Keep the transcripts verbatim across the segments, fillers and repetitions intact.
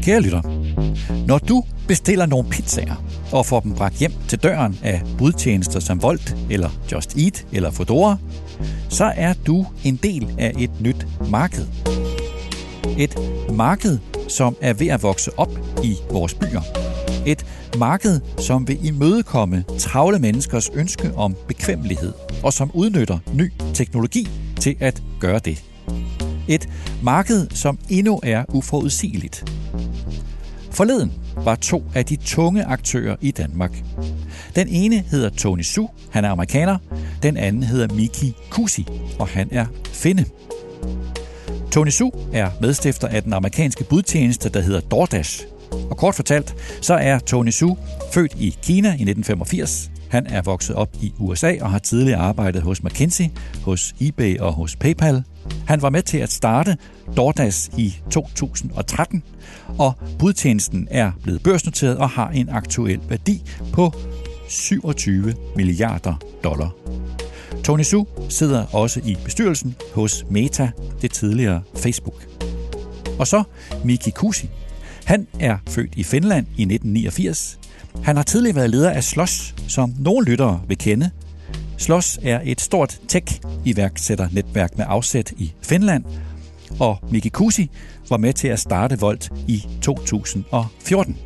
Kære lytter, når du bestiller nogle pizzaer og får dem bragt hjem til døren af budtjenester som Wolt eller Just Eat eller Foodora, så er du en del af et nyt marked. Et marked, som er ved at vokse op i vores byer. Et marked, som vil imødekomme travle menneskers ønske om bekvemmelighed, og som udnytter ny teknologi til at gøre det. Et marked, som endnu er uforudsigeligt. Forleden var to af de tunge aktører i Danmark. Den ene hedder Tony Xu, han er amerikaner. Den anden hedder Miki Kuusi, og han er finne. Tony Xu er medstifter af den amerikanske budtjeneste, der hedder DoorDash. Og kort fortalt, så er Tony Xu født i Kina i nitten femogfirs. Han er vokset op i U S A og har tidligere arbejdet hos McKinsey, hos eBay og hos PayPal. Han var med til at starte DoorDash i to tusind og tretten, og budtjenesten er blevet børsnoteret og har en aktuel værdi på syvogtyve milliarder dollar. Tony Xu sidder også i bestyrelsen hos Meta, det tidligere Facebook. Og så Miki Kuusi. Han er født i Finland i nitten niogfirs. Han har tidligere været leder af Slush, som nogle lyttere vil kende. Slush er et stort tech-iværksætternetværk med afsæt i Finland, og Miki Kuusi var med til at starte Wolt i to tusind og fjorten.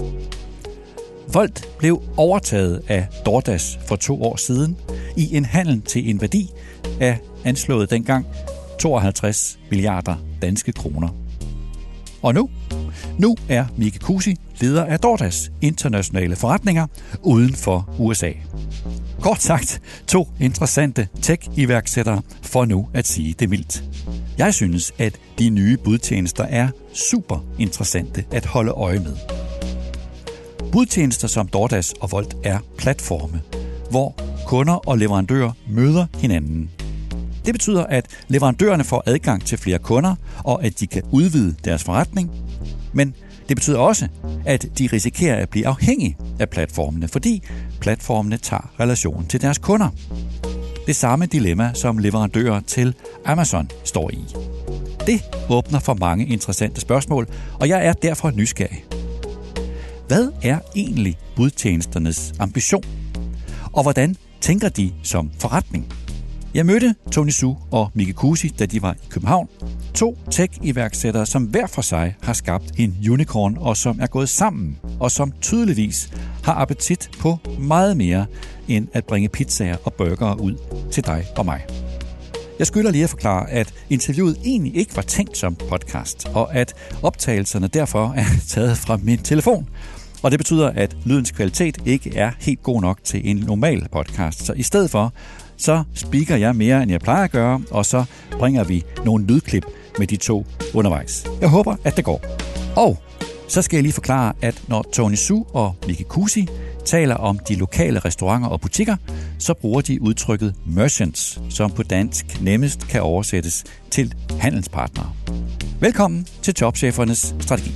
Wolt blev overtaget af DoorDash for to år siden i en handel til en værdi af anslået dengang tooghalvtreds milliarder danske kroner. Og nu? Nu er Miki Kuusi leder af DoorDash internationale forretninger uden for U S A. Kort sagt, to interessante tech-iværksættere, for nu at sige det mildt. Jeg synes, at de nye budtjenester er super interessante at holde øje med. Budtjenester som DoorDash og Wolt er platforme, hvor kunder og leverandører møder hinanden. Det betyder, at leverandørerne får adgang til flere kunder, og at de kan udvide deres forretning. Men det betyder også, at de risikerer at blive afhængige af platformene, fordi platformene tager relation til deres kunder. Det samme dilemma, som leverandører til Amazon står i. Det åbner for mange interessante spørgsmål, og jeg er derfor nysgerrig. Hvad er egentlig budtjenesternes ambition? Og hvordan tænker de som forretning? Jeg mødte Tony Xu og Miki Kuusi, da de var i København. To tech-iværksættere, som hver for sig har skabt en unicorn, og som er gået sammen, og som tydeligvis har appetit på meget mere, end at bringe pizzaer og burgere ud til dig og mig. Jeg skylder lige at forklare, at interviewet egentlig ikke var tænkt som podcast, og at optagelserne derfor er taget fra min telefon. Og det betyder, at lydens kvalitet ikke er helt god nok til en normal podcast. Så i stedet for, så speaker jeg mere, end jeg plejer at gøre, og så bringer vi nogle lydklip med de to undervejs. Jeg håber, at det går. Og så skal jeg lige forklare, at når Tony Xu og Miki Kuusi taler om de lokale restauranter og butikker, så bruger de udtrykket merchants, som på dansk nemmest kan oversættes til handelspartnere. Velkommen til Topchefernes Strategi.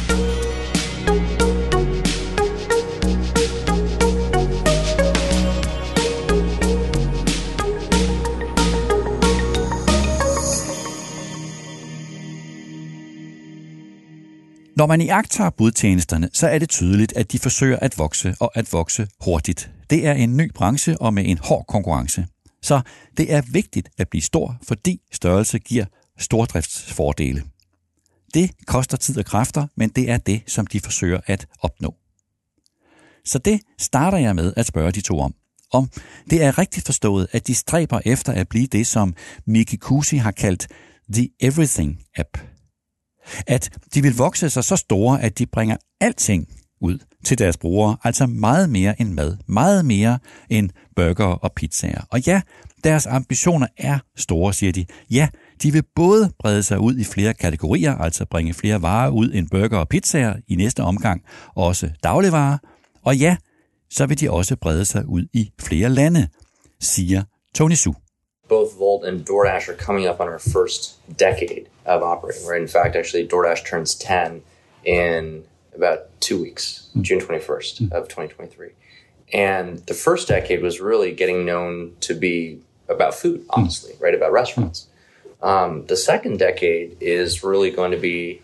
Når man iagttager budtjenesterne, så er det tydeligt, at de forsøger at vokse og at vokse hurtigt. Det er en ny branche og med en hård konkurrence. Så det er vigtigt at blive stor, fordi størrelse giver stordriftsfordele. Det koster tid og kræfter, men det er det, som de forsøger at opnå. Så det starter jeg med at spørge de to om. Om det er rigtigt forstået, at de stræber efter at blive det, som Miki Kuusi har kaldt The Everything App. At de vil vokse sig så store, at de bringer alting ud til deres brugere, altså meget mere end mad, meget mere end burger og pizzaer. Og ja, deres ambitioner er store, siger de. Ja, de vil både brede sig ud i flere kategorier, altså bringe flere varer ud end burger og pizzaer, i næste omgang også dagligvarer. Og ja, så vil de også brede sig ud i flere lande, siger Tony Xu. Both Wolt and DoorDash are coming up on our first decade of operating, right? In fact, actually, DoorDash turns ten in about two weeks, mm. June twenty-first mm. of twenty twenty-three. And the first decade was really getting known to be about food, honestly, mm. right? About restaurants. Mm. Um, the second decade is really going to be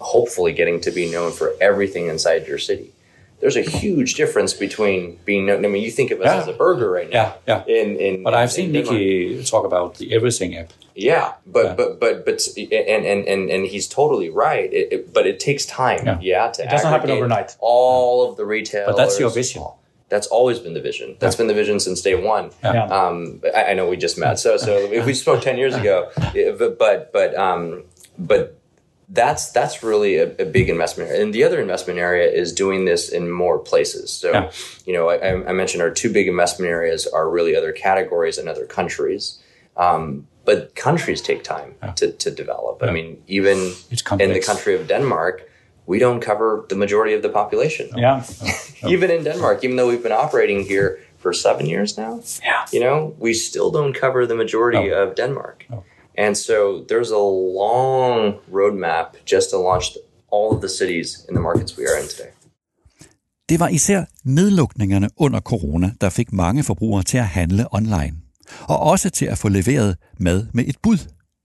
hopefully getting to be known for everything inside your city. There's a huge difference between being known. I mean, you think of us yeah. as a burger right now. Yeah, yeah. In, in, but I've in, seen in Nicky talk about the Everything app. Yeah, but yeah. but but but and and and, and he's totally right. It, it, but it takes time. Yeah, yeah to it doesn't happen overnight. All of the retailers. But that's your vision. That's always been the vision. That's yeah. been the vision since day one. Yeah. Um, I, I know we just met, so so if we spoke ten years ago, but but um, but. That's that's really a, a big investment area. And the other investment area is doing this in more places. So, yeah. you know, I, I mentioned our two big investment areas are really other categories and other countries. Um, but countries take time yeah. to, to develop. Yeah. I mean, even in the country of Denmark, we don't cover the majority of the population. Yeah. Even in Denmark, even though we've been operating here for seven years now, yeah. you know, we still don't cover the majority no. of Denmark. No. And so there's a long roadmap just to launch all of the cities in the markets we are in today. Det var især nedlukningerne under corona, der fik mange forbrugere til at handle online, og også til at få leveret mad med et bud.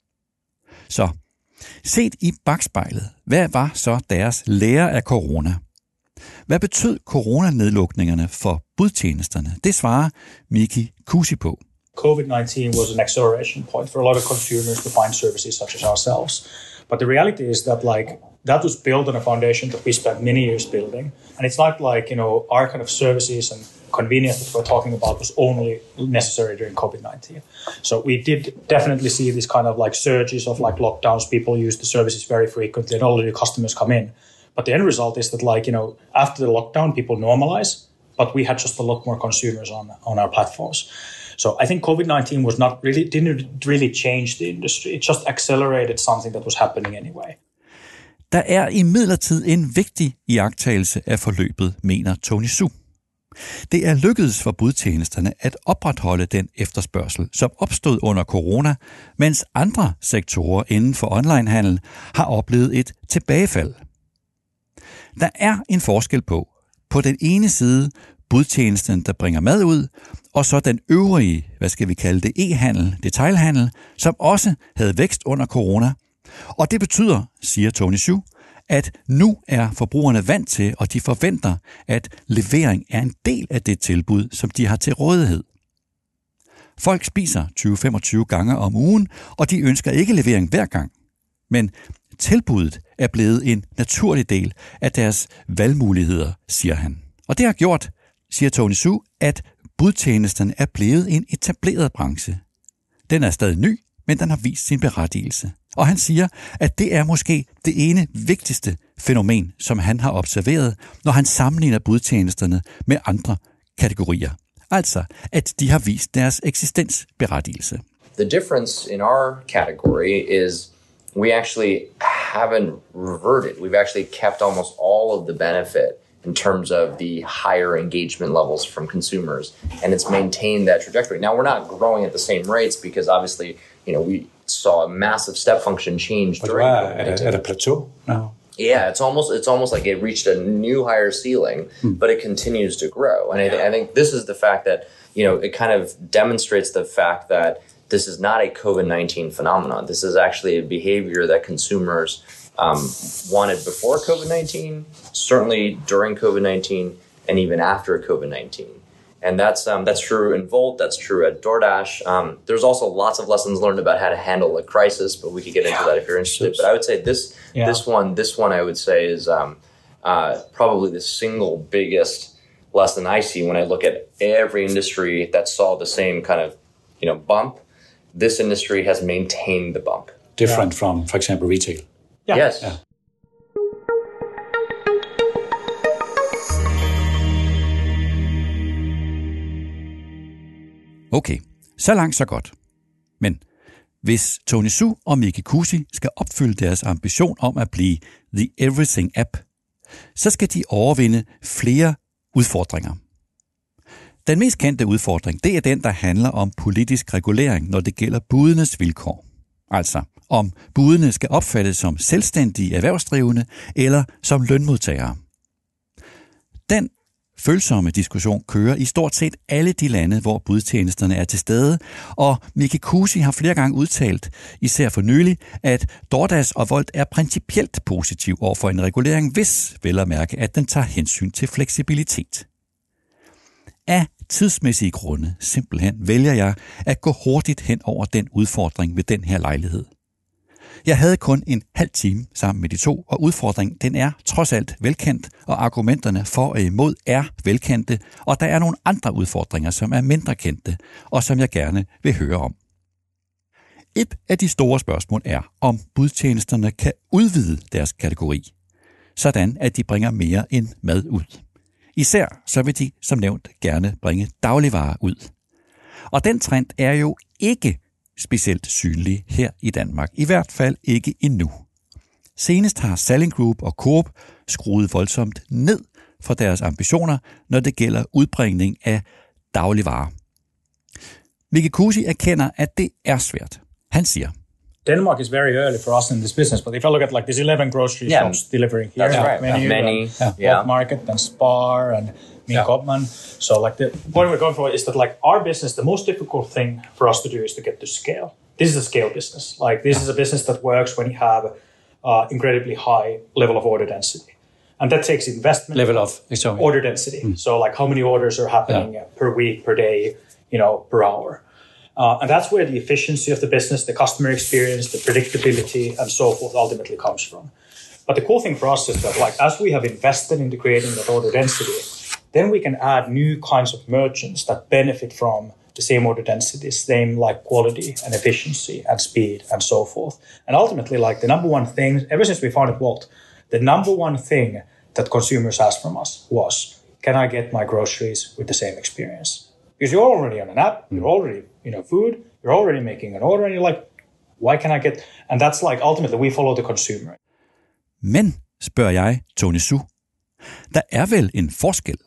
Så set i bagspejlet, hvad var så deres lære af corona? Hvad betød coronanedlukningerne for budtjenesterne? Det svarer Miki Kuusi på. COVID nineteen was an acceleration point for a lot of consumers to find services such as ourselves. But the reality is that like that was built on a foundation that we spent many years building. And it's not like, you know, our kind of services and convenience that we're talking about was only necessary during COVID nineteen. So we did definitely see this kind of like surges of like lockdowns. People use the services very frequently and all the customers come in. But the end result is that like, you know, after the lockdown, people normalize, but we had just a lot more consumers on, on our platforms. So I think COVID nineteen was not really, didn't really change the industry. It just accelerated something that was happening anyway. Der er imidlertid en vigtig iagttagelse af forløbet, mener Tony Xu. Det er lykkedes for budtjenesterne at opretholde den efterspørgsel, som opstod under corona, mens andre sektorer inden for onlinehandel har oplevet et tilbagefald. Der er en forskel på, på den ene side, budtjenesten, der bringer mad ud, og så den øvrige, hvad skal vi kalde det, e-handel, detailhandel, som også havde vækst under corona. Og det betyder, siger Tony Xu, at nu er forbrugerne vant til, og de forventer, at levering er en del af det tilbud, som de har til rådighed. Folk spiser tyve til femogtyve gange om ugen, og de ønsker ikke levering hver gang. Men tilbuddet er blevet en naturlig del af deres valgmuligheder, siger han. Og det har gjort, siger Tony Xu, at budtjenesten er blevet en etableret branche. Den er stadig ny, men den har vist sin berettigelse. Og han siger, at det er måske det ene vigtigste fænomen, som han har observeret, når han sammenligner budtjenesterne med andre kategorier. Altså, at de har vist deres eksistensberettigelse. The difference in our category is we actually haven't reverted. We've actually kept almost all of the benefit in terms of the higher engagement levels from consumers, and it's maintained that trajectory. Now, we're not growing at the same rates because obviously, you know, we saw a massive step function change but during wow, at, a, at a plateau now. Yeah, it's almost it's almost like it reached a new higher ceiling, hmm. but it continues to grow. And I, th- I think this is the fact that, you know, it kind of demonstrates the fact that this is not a COVID nineteen phenomenon. This is actually a behavior that consumers um, wanted before COVID nineteen, certainly during COVID nineteen, and even after COVID nineteen. And that's um, that's true in Volt. That's true at DoorDash. Um, there's also lots of lessons learned about how to handle a crisis, but we could get into yeah. that if you're interested. But I would say this yeah. this one this one I would say is um, uh, probably the single biggest lesson I see when I look at every industry that saw the same kind of, you know, bump. This industry has maintained the bump. Different yeah. from, for example, retail. Yeah. Yes. Yeah. Okay, så langt så godt. Men hvis Tony Xu og Miki Kuusi skal opfylde deres ambition om at blive The Everything App, så skal de overvinde flere udfordringer. Den mest kendte udfordring, det er den, der handler om politisk regulering, når det gælder budenes vilkår. Altså, om budene skal opfattes som selvstændige erhvervsdrivende eller som lønmodtagere. Den følsomme diskussion kører i stort set alle de lande, hvor budtjenesterne er til stede, og Miki Kuusi har flere gange udtalt, især for nylig, at DoorDash og Wolt er principielt positiv over for en regulering, hvis vel at mærke, at den tager hensyn til fleksibilitet. Af tidsmæssige grunde simpelthen vælger jeg at gå hurtigt hen over den udfordring ved den her lejlighed. Jeg havde kun en halv time sammen med de to, og udfordringen den er trods alt velkendt, og argumenterne for og imod er velkendte, og der er nogle andre udfordringer, som er mindre kendte, og som jeg gerne vil høre om. Et af de store spørgsmål er, om budtjenesterne kan udvide deres kategori, sådan at de bringer mere end mad ud. Især så vil de, som nævnt, gerne bringe dagligvarer ud. Og den trend er jo ikke specielt synlig her i Danmark. I hvert fald ikke endnu. Senest har Salling Group og Coop skruet voldsomt ned for deres ambitioner, når det gælder udbringning af dagligvarer. Miki Kuusi erkender, at det er svært. Han siger, Denmark is very early for us in this business, but if I look at like these eleven grocery Yeah. shops delivering here, That's right. Menu, Many, and yeah. Bulk Market, and Spar, and Min Kopman. So like the point we're going for is that like our business, the most difficult thing for us to do is to get to scale. This is a scale business. Like this is a business that works when you have uh, incredibly high level of order density. And that takes investment. Level of sorry. Order density. Mm. So like how many orders are happening yeah. per week, per day, you know, per hour. Uh, and that's where the efficiency of the business, the customer experience, the predictability, and so forth ultimately comes from. But the cool thing for us is that, like, as we have invested into creating that order density, then we can add new kinds of merchants that benefit from the same order density, same like quality and efficiency and speed and so forth. And ultimately, like the number one thing, ever since we founded Wolt, the number one thing that consumers asked from us was, can I get my groceries with the same experience? Because you're already on an app, you're already, you know, food, you're already making an order, and you're like, why can I get... And that's like, ultimately, we follow the consumer. Men, spørger jeg Tony Xu, der er vel en forskel.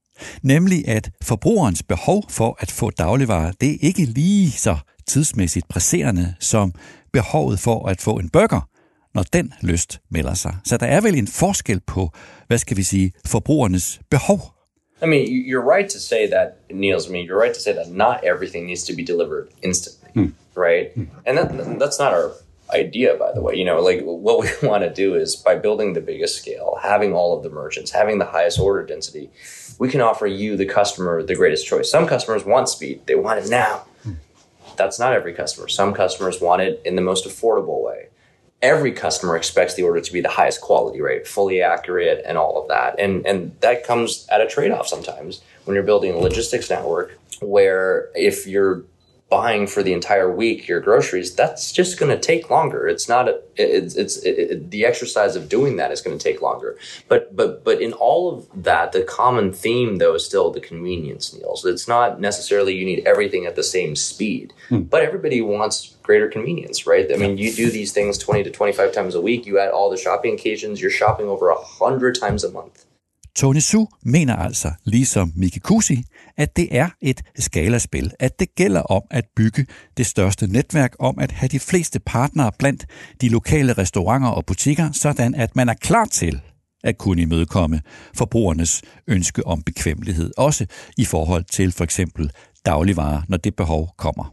Nemlig at forbrugerens behov for at få dagligvarer, det er ikke lige så tidsmæssigt presserende som behovet for at få en burger, når den lyst melder sig. Så der er vel en forskel på, hvad skal vi sige, forbrugernes behov. I mean, you're right to say that, Niels. I mean, you're right to say that not everything needs to be delivered instantly, mm. right? Mm. And that, that's not our idea, by the way. You know, like what we want to do is by building the biggest scale, having all of the merchants, having the highest order density, we can offer you, the customer, the greatest choice. Some customers want speed. They want it now. Mm. That's not every customer. Some customers want it in the most affordable way. Every customer expects the order to be the highest quality, right? Fully accurate and all of that. And and that comes at a trade-off sometimes when you're building a logistics network where if you're buying for the entire week your groceries, that's just going to take longer. It's not a, it's it's it, it, the exercise of doing that is going to take longer. But but but in all of that, the common theme though is still the convenience, Niels. It's not necessarily you need everything at the same speed, hmm. but everybody wants greater convenience, right? I mean, you do these things twenty to twenty-five times a week. You add all the shopping occasions, you're shopping over a hundred times a month. Tony Xu mener altså, ligesom Miki Kuusi, at det er et skalaspil, at det gælder om at bygge det største netværk, om at have de fleste partnere blandt de lokale restauranter og butikker, sådan at man er klar til at kunne imødekomme forbrugernes ønske om bekvemmelighed, også i forhold til for eksempel dagligvarer, når det behov kommer.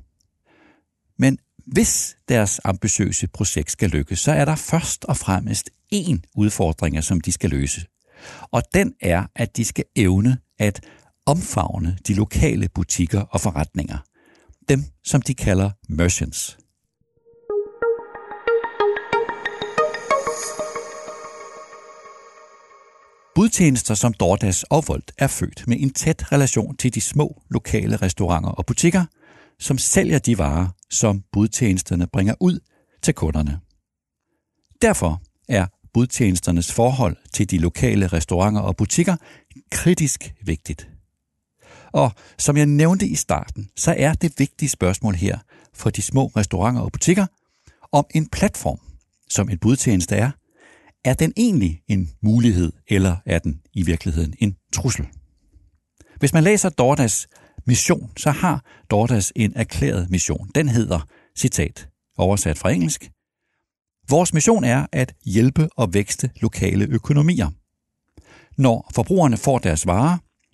Men hvis deres ambitiøse projekt skal lykkes, så er der først og fremmest én udfordring, som de skal løse. Og den er, at de skal evne at omfavne de lokale butikker og forretninger. Dem, som de kalder merchants. Budtjenester som DoorDash og Wolt er født med en tæt relation til de små lokale restauranter og butikker, som sælger de varer, som budtjenesterne bringer ud til kunderne. Derfor er budtjenesternes forhold til de lokale restauranter og butikker kritisk vigtigt. Og som jeg nævnte i starten, så er det vigtige spørgsmål her for de små restauranter og butikker, om en platform, som en budtjeneste er, er den egentlig en mulighed, eller er den i virkeligheden en trussel? Hvis man læser DoorDash mission, så har DoorDash en erklæret mission. Den hedder, citat, oversat fra engelsk: vores mission er at hjælpe og vækste lokale økonomier. Når forbrugerne får deres varer,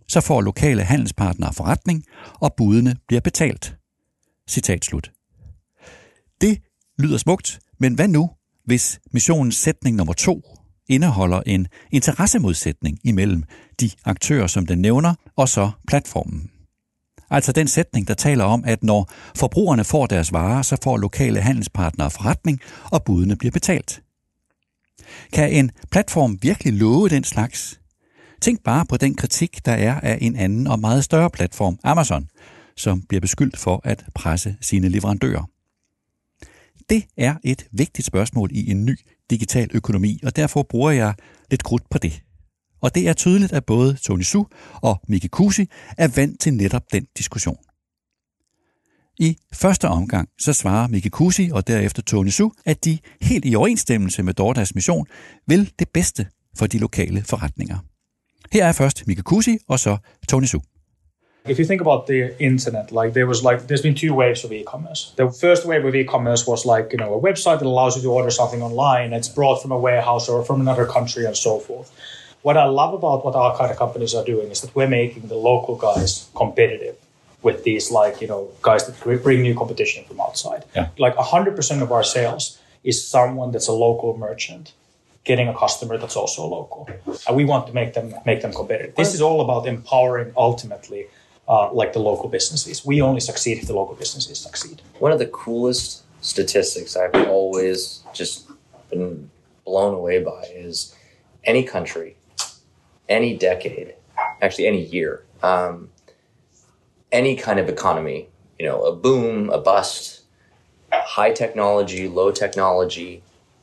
så får lokale handelspartnere forretning, og budene bliver betalt. Citat slut. Det lyder smukt, men hvad nu, hvis missionens sætning nummer to indeholder en interessemodsætning imellem de aktører, som den nævner, og så platformen? Altså den sætning, der taler om, at når forbrugerne får deres varer, så får lokale handelspartnere forretning, og budene bliver betalt. Kan en platform virkelig love den slags? Tænk bare på den kritik, der er af en anden og meget større platform, Amazon, som bliver beskyldt for at presse sine leverandører. Det er et vigtigt spørgsmål i en ny digital økonomi, og derfor bruger jeg lidt krudt på det. Og det er tydeligt, at både Tony Xu og Miki Kuusi er vant til netop den diskussion. I første omgang så svarer Miki Kuusi og derefter Tony Xu, at de helt i overensstemmelse med DoorDashs mission vil det bedste for de lokale forretninger. Her er først Miki Kuusi og så Tony Xu. If you think about the internet, like there was like there's been two waves of e-commerce. The first wave of e-commerce was like, you know, a website that allows you to order something online. It's brought from a warehouse or from another country and so forth. What I love about what our kind of companies are doing is that we're making the local guys competitive with these, like, you know, guys that bring new competition from outside. Yeah. Like one hundred percent of our sales is someone that's a local merchant getting a customer that's also local. And we want to make them make them competitive. This is all about empowering ultimately uh, like the local businesses. We only succeed if the local businesses succeed. One of the coolest statistics I've always just been blown away by is any country, any decade, actually any year, um, any kind of economy, you know, a boom, a bust, high technology, low technology,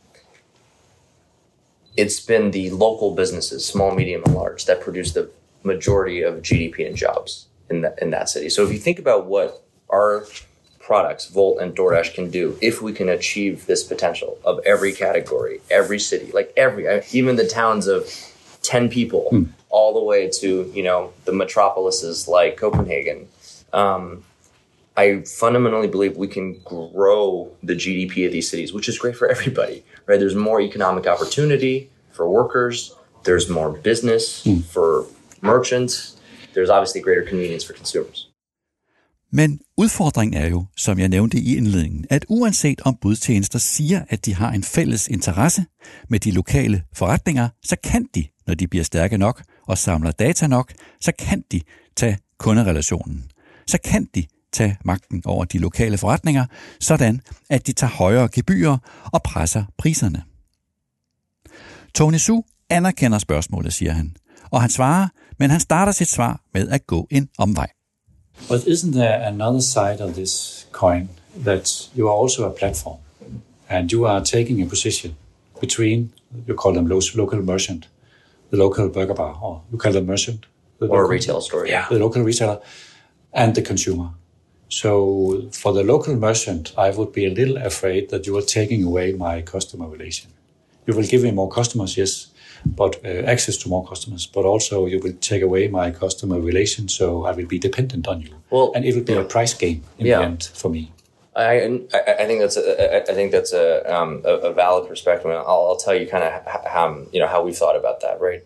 it's been the local businesses, small, medium, and large, that produce the majority of G D P and jobs in that, in that city. So if you think about what our products, Volt and DoorDash, can do, if we can achieve this potential of every category, every city, like every, even the towns of ten people, mm. all the way to, you know, the metropolises like Copenhagen, um, I fundamentally believe we can grow the G D P of these cities, which is great for everybody, right? There's more economic opportunity for workers. There's more business mm. for merchants. There's obviously greater convenience for consumers. Men udfordringen er jo, som jeg nævnte i indledningen, at uanset om budtjenester siger, at de har en fælles interesse med de lokale forretninger, så kan de, når de bliver stærke nok og samler data nok, så kan de tage kunderelationen. Så kan de tage magten over de lokale forretninger, sådan at de tager højere gebyrer og presser priserne. Tony Xu anerkender spørgsmålet, siger han, og han svarer, men han starter sit svar med at gå en omvej. But isn't there another side of this coin, that you are also a platform, and you are taking a position between, you call them local merchant, the local burger bar, or you call them merchant, the or local, a retail store, yeah, the local retailer, and the consumer. So for the local merchant, I would be a little afraid that you are taking away my customer relation. You will give me more customers, yes, but uh, access to more customers, but also you will take away my customer relation, so I will be dependent on you, well, and it will be yeah. a price game in yeah. the end for me. I, I, I think that's a, I think that's a, um, a, a valid perspective. I'll, I'll tell you kind of how, you know, how we thought about that, right?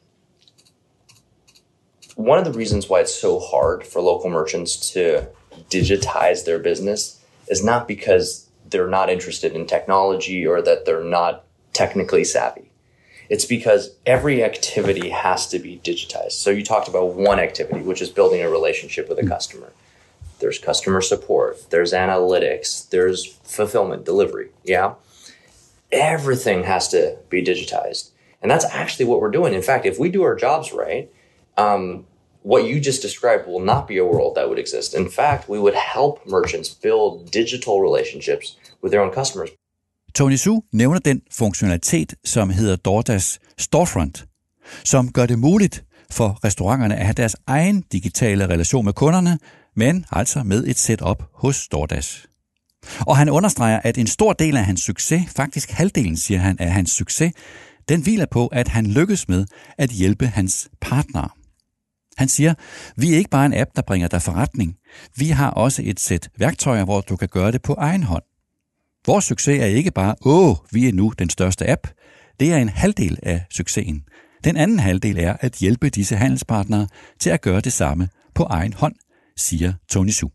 One of the reasons why it's so hard for local merchants to digitize their business is not because they're not interested in technology or that they're not technically savvy. It's because every activity has to be digitized. So you talked about one activity, which is building a relationship with a customer. There's customer support, there's analytics, there's fulfillment, delivery, yeah? Everything has to be digitized. And that's actually what we're doing. In fact, if we do our jobs right, um, what you just described will not be a world that would exist. In fact, we would help merchants build digital relationships with their own customers. Tony Xu nævner den funktionalitet, som hedder DoorDash Storefront, som gør det muligt for restauranterne at have deres egen digitale relation med kunderne, men altså med et setup hos DoorDash. Og han understreger, at en stor del af hans succes, faktisk halvdelen, siger han, af hans succes, den hviler på, at han lykkes med at hjælpe hans partnere. Han siger, vi er ikke bare en app, der bringer dig forretning. Vi har også et sæt værktøjer, hvor du kan gøre det på egen hånd. Vores succes er ikke bare, åh, vi er nu den største app. Det er en halvdel af succesen. Den anden halvdel er at hjælpe disse handelspartnere til at gøre det samme på egen hånd, siger Tony Xu.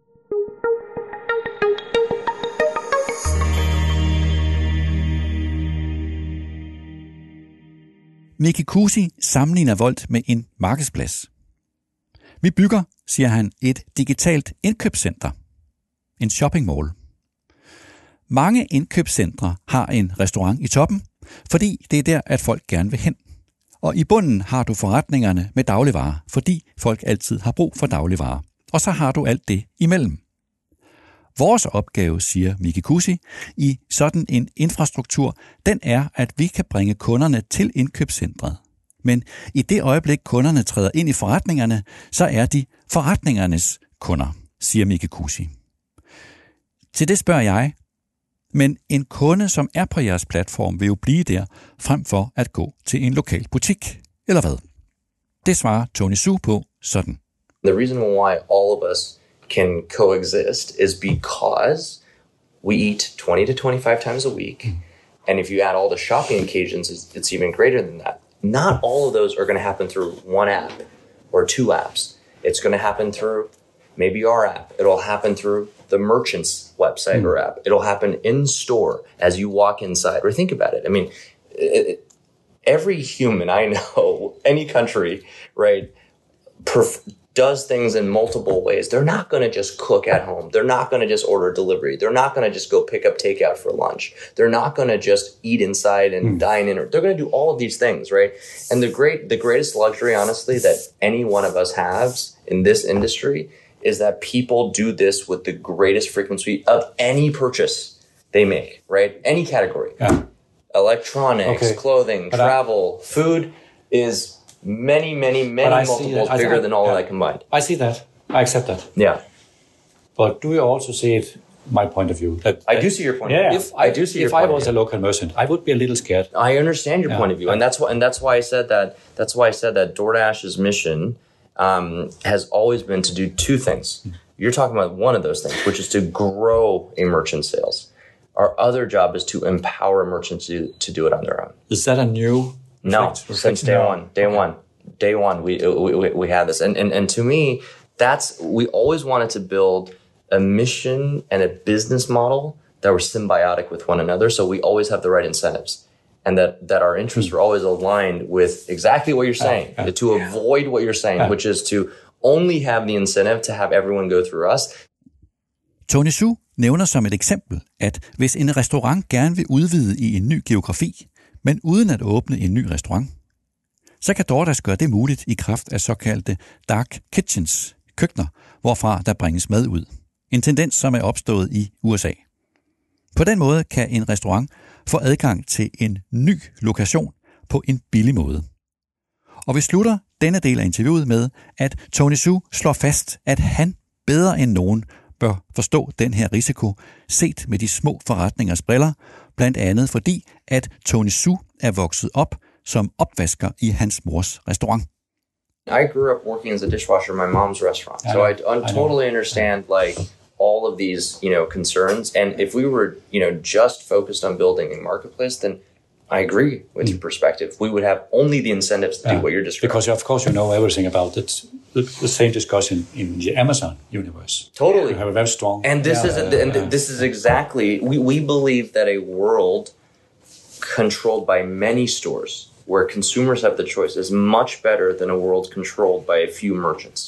Miki Kuusi sammenligner Wolt med en markedsplads. Vi bygger, siger han, et digitalt indkøbscenter. En shopping mall. Mange indkøbscentre har en restaurant i toppen, fordi det er der, at folk gerne vil hen. Og i bunden har du forretningerne med dagligvarer, fordi folk altid har brug for dagligvarer. Og så har du alt det imellem. Vores opgave, siger Miki Kuusi, i sådan en infrastruktur, den er, at vi kan bringe kunderne til indkøbscentret. Men i det øjeblik, kunderne træder ind i forretningerne, så er de forretningernes kunder, siger Miki Kuusi. Til det spørger jeg, men en kunde, som er på jeres platform, vil jo blive der, frem for at gå til en lokal butik, eller hvad? Det svarer Tony Xu på sådan. The reason why all of us can coexist is because we eat twenty to twenty-five times a week. Mm. And if you add all the shopping occasions, it's, it's even greater than that. Not all of those are going to happen through one app or two apps. It's going to happen through maybe our app. It'll happen through the merchant's website mm. or app. It'll happen in store as you walk inside. Or think about it. I mean, it, every human I know, any country, right, perf- does things in multiple ways. They're not going to just cook at home. They're not going to just order delivery. They're not going to just go pick up takeout for lunch. They're not going to just eat inside and mm. dine in. They're going to do all of these things, right? And the great, the greatest luxury, honestly, that any one of us has in this industry is that people do this with the greatest frequency of any purchase they make, right? Any category. Yeah. Electronics, okay. clothing, but travel, I... food is many, many, many multiples bigger than all yeah. of that combined. I see that. I accept that. Yeah. But do you also see it, my point of view? That, I that, do see your point yeah, of view. If I, I do see if your point I was of view. a local merchant, I would be a little scared. I understand your yeah. point of view. And that's why and that's why I said that that's why I said that DoorDash's mission um, has always been to do two things. Mm. You're talking about one of those things, which is to grow a merchant sales. Our other job is to empower merchants to, to do it on their own. Is that a new? No, reflect, since reflect? day no. one. Day okay. one. Day one, we, we we have this, and and and to me, that's we always wanted to build a mission and a business model that were symbiotic with one another. So we always have the right incentives, and that that our interests were always aligned with exactly what you're saying, uh, uh, to avoid what you're saying, uh, which is to only have the incentive to have everyone go through us. Tony Xu nævner som et eksempel, at hvis en restaurant gerne vil udvide i en ny geografi, men uden at åbne en ny restaurant, så kan DoorDash gøre det muligt i kraft af såkaldte dark kitchens, køkkener, hvorfra der bringes mad ud. En tendens, som er opstået i U S A. På den måde kan en restaurant få adgang til en ny lokation på en billig måde. Og vi slutter denne del af interviewet med, at Tony Xu slår fast, at han bedre end nogen bør forstå den her risiko, set med de små forretningers briller, blandt andet fordi, at Tony Xu er vokset op som opvasker i hans mors restaurant. I grew up working as a dishwasher in my mom's restaurant, so I, I totally understand like all of these, you know, concerns. And if we were, you know, just focused on building a marketplace, then I agree with mm. your perspective. We would have only the incentives to yeah. do what you're describing. Because of course you know everything about it. The, the same discussion in the Amazon universe. Totally, you have a very strong. And this yeah, is uh, and yeah. this is exactly we we believe that a world controlled by many stores, where consumers have the choice, is much better than a world controlled by a few merchants.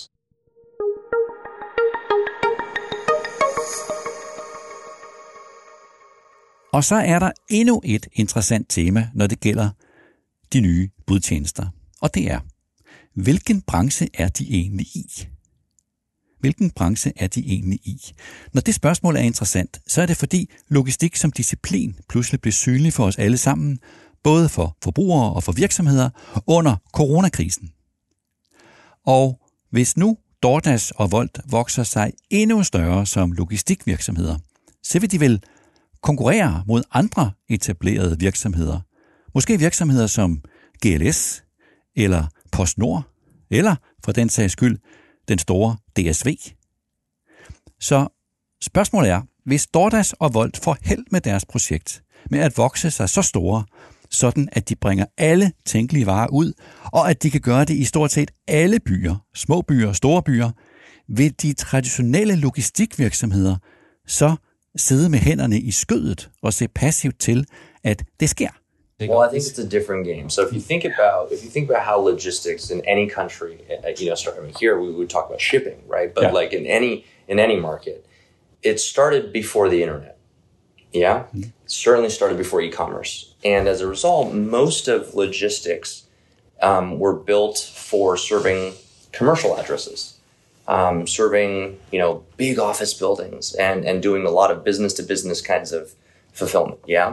Og så er der endnu et interessant tema, når det gælder de nye budtjenester. Og det er, hvilken branche er de egentlig i? Hvilken branche er de egentlig i? Når det spørgsmål er interessant, så er det fordi logistik som disciplin pludselig blev synlig for os alle sammen, både for forbrugere og for virksomheder under coronakrisen. Og hvis nu DoorDash og Wolt vokser sig endnu større som logistikvirksomheder, så vil de vel konkurrere mod andre etablerede virksomheder. Måske virksomheder som G L S eller PostNord, eller for den sags skyld den store D S V. Så spørgsmålet er, hvis DoorDash og Wolt får held med deres projekt med at vokse sig så store, sådan at de bringer alle tænkelige varer ud, og at de kan gøre det i stort set alle byer, små byer og store byer, vil de traditionelle logistikvirksomheder så sidde med hænderne i skødet og se passivt til, at det sker. Well, I think it's a different game. So if you think about if you think about how logistics in any country, you know, start, I mean, here we would talk about shipping, right? But yeah. like in any in any market, it started before the internet. Yeah, mm-hmm. It certainly started before e-commerce, and as a result, most of logistics um, were built for serving commercial addresses, um, serving you know big office buildings, and and doing a lot of business to business kinds of fulfillment. Yeah.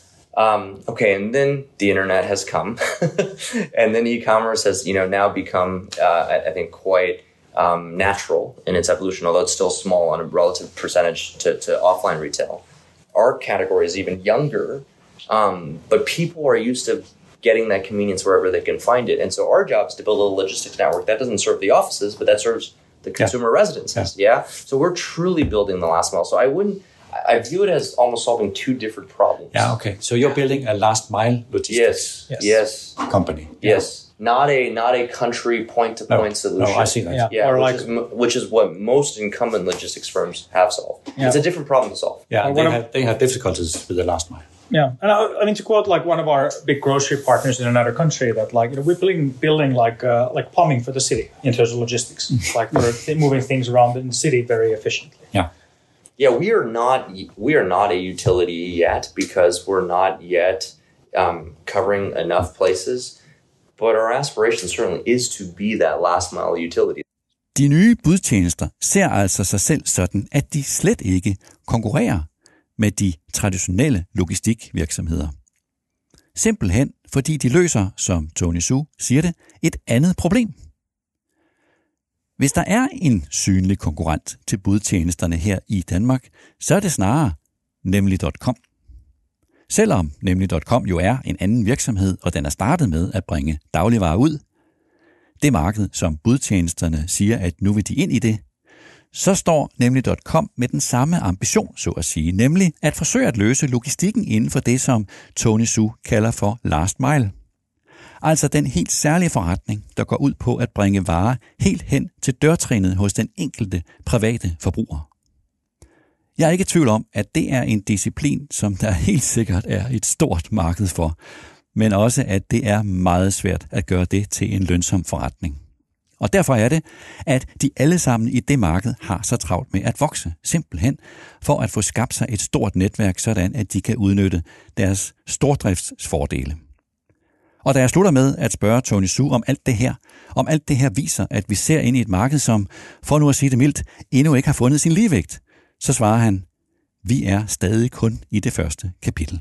Um, okay, and then the internet has come, and then e-commerce has, you know, now become, uh, I, I think, quite um, natural in its evolution, although it's still small on a relative percentage to, to offline retail. Our category is even younger, um, but people are used to getting that convenience wherever they can find it. And so our job is to build a logistics network that doesn't serve the offices, but that serves the consumer yeah. residences. Yeah. yeah. So we're truly building the last mile. So I wouldn't, I view it as almost solving two different problems. Yeah, okay. So you're building a last mile logistics yes, yes. yes. company. Yes. Yeah. Not a not a country point to point no, solution. No, I see that. Yeah, yeah or which, like, is, which is what most incumbent logistics firms have solved. Yeah. It's a different problem to solve. Yeah, they have, they have difficulties with the last mile. Yeah, and I, I mean to quote like one of our big grocery partners in another country, that like you know we're building building like uh, like plumbing for the city in terms of logistics, like we're th- moving things around in the city very efficiently. Yeah. Yeah, we are not we are not a utility yet because we're not yet um, covering enough places. But our aspiration certainly is to be that last mile utility. De nye budtjenester ser altså sig selv sådan, at de slet ikke konkurrerer med de traditionelle logistikvirksomheder. Simpelthen fordi de løser, som Tony Xu siger det, et andet problem. Hvis der er en synlig konkurrent til budtjenesterne her i Danmark, så er det snarere nemlig punktum com. Selvom nemlig punktum com jo er en anden virksomhed, og den er startet med at bringe dagligvarer ud, det marked, som budtjenesterne siger, at nu vil de ind i det, så står nemlig punktum com med den samme ambition, så at sige, nemlig at forsøge at løse logistikken inden for det, som Tony Xu kalder for last mile. Altså den helt særlige forretning, der går ud på at bringe varer helt hen til dørtrinnet hos den enkelte private forbruger. Jeg er ikke i tvivl om, at det er en disciplin, som der helt sikkert er et stort marked for, men også at det er meget svært at gøre det til en lønsom forretning. Og derfor er det, at de alle sammen i det marked har så travlt med at vokse, simpelthen for at få skabt sig et stort netværk, sådan at de kan udnytte deres stordriftsfordele. Og da jeg slutter med at spørge Tony Xu om alt det her, om alt det her viser, at vi ser ind i et marked, som, for nu at sige det mildt, endnu ikke har fundet sin ligevægt, så svarer han, vi er stadig kun i det første kapitel.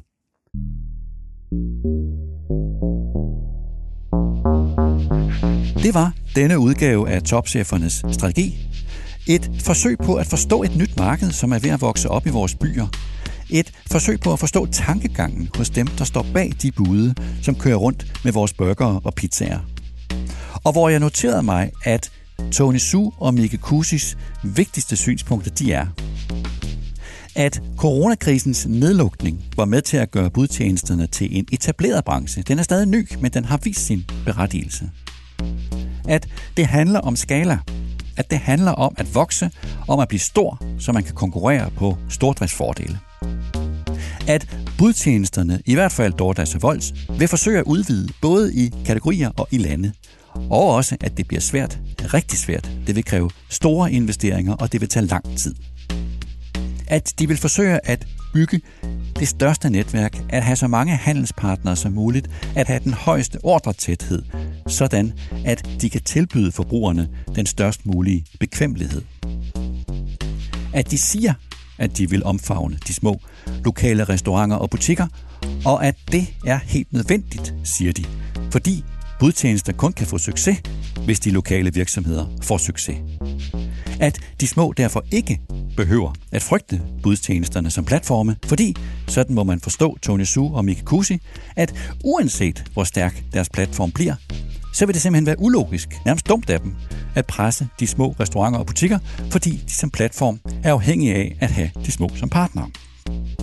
Det var denne udgave af Topchefernes Strategi. Et forsøg på at forstå et nyt marked, som er ved at vokse op i vores byer. Et forsøg på at forstå tankegangen hos dem, der står bag de bude, som kører rundt med vores burgere og pizzaer. Og hvor jeg noterede mig, at Tony Xu og Mike Kusis vigtigste synspunkter, de er, at coronakrisens nedlukning var med til at gøre budtjenesterne til en etableret branche. Den er stadig ny, men den har vist sin berettigelse. At det handler om skala. At det handler om at vokse, om at blive stor, så man kan konkurrere på stordriftsfordele. At budtjenesterne, i hvert fald DoorDash og Wolt, vil forsøge at udvide både i kategorier og i lande. Og også, at det bliver svært, rigtig svært. Det vil kræve store investeringer, og det vil tage lang tid. At de vil forsøge at bygge det største netværk, at have så mange handelspartnere som muligt, at have den højeste ordretæthed, sådan at de kan tilbyde forbrugerne den størst mulige bekvemmelighed. At de siger, at de vil omfavne de små lokale restauranter og butikker, og at det er helt nødvendigt, siger de, fordi budtjenester kun kan få succes, hvis de lokale virksomheder får succes. At de små derfor ikke behøver at frygte budtjenesterne som platforme, fordi, sådan må man forstå Tony Xu og Mike Kusi, at uanset hvor stærk deres platform bliver, så vil det simpelthen være ulogisk, nærmest dumt af dem, at presse de små restauranter og butikker, fordi de som platform er afhængige af at have de små som partnere.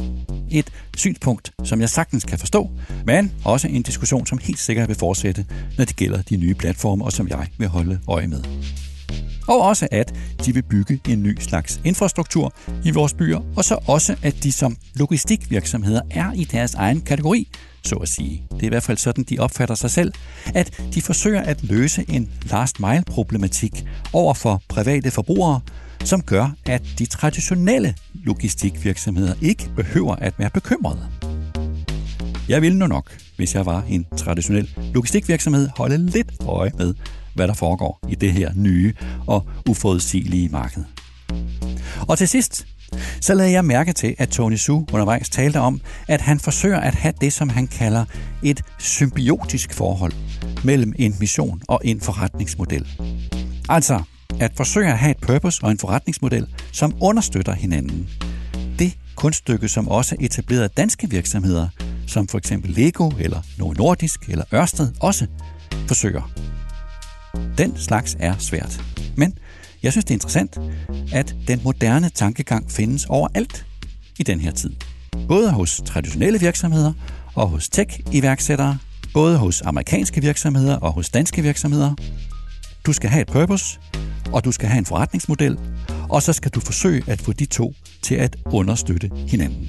et synspunkt, som jeg sagtens kan forstå, men også en diskussion, som helt sikkert vil fortsætte, når det gælder de nye platforme, og som jeg vil holde øje med. Og også at de vil bygge en ny slags infrastruktur i vores byer, og så også at de som logistikvirksomheder er i deres egen kategori, så at sige. Det er i hvert fald sådan, de opfatter sig selv, at de forsøger at løse en last mile problematik over for private forbrugere, som gør, at de traditionelle logistikvirksomheder ikke behøver at være bekymrede. Jeg ville nu nok, hvis jeg var en traditionel logistikvirksomhed, holde lidt øje med, hvad der foregår i det her nye og uforudsigelige marked. Og til sidst, så lagde jeg mærke til, at Tony Xu undervejs talte om, at han forsøger at have det, som han kalder et symbiotisk forhold mellem en mission og en forretningsmodel. Altså at forsøge at have et purpose og en forretningsmodel, som understøtter hinanden. Det kunststykke, som også etablerede danske virksomheder, som for eksempel Lego eller Novo Nordisk eller Ørsted, også forsøger. Den slags er svært. Men jeg synes, det er interessant, at den moderne tankegang findes overalt i den her tid. Både hos traditionelle virksomheder og hos tech-iværksættere, både hos amerikanske virksomheder og hos danske virksomheder. Du skal have et purpose, og du skal have en forretningsmodel, og så skal du forsøge at få de to til at understøtte hinanden.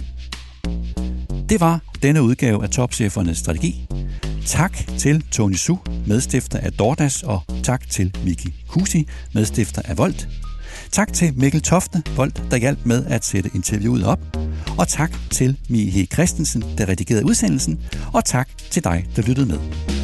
Det var denne udgave af Topchefernes Strategi. Tak til Tony Xu, medstifter af DoorDash, og tak til Miki Kusi, medstifter af Volt. Tak til Mikkel Tofte, Volt, der hjalp med at sætte interviewet op. Og tak til Mie Christensen, der redigerede udsendelsen. Og tak til dig, der lyttede med.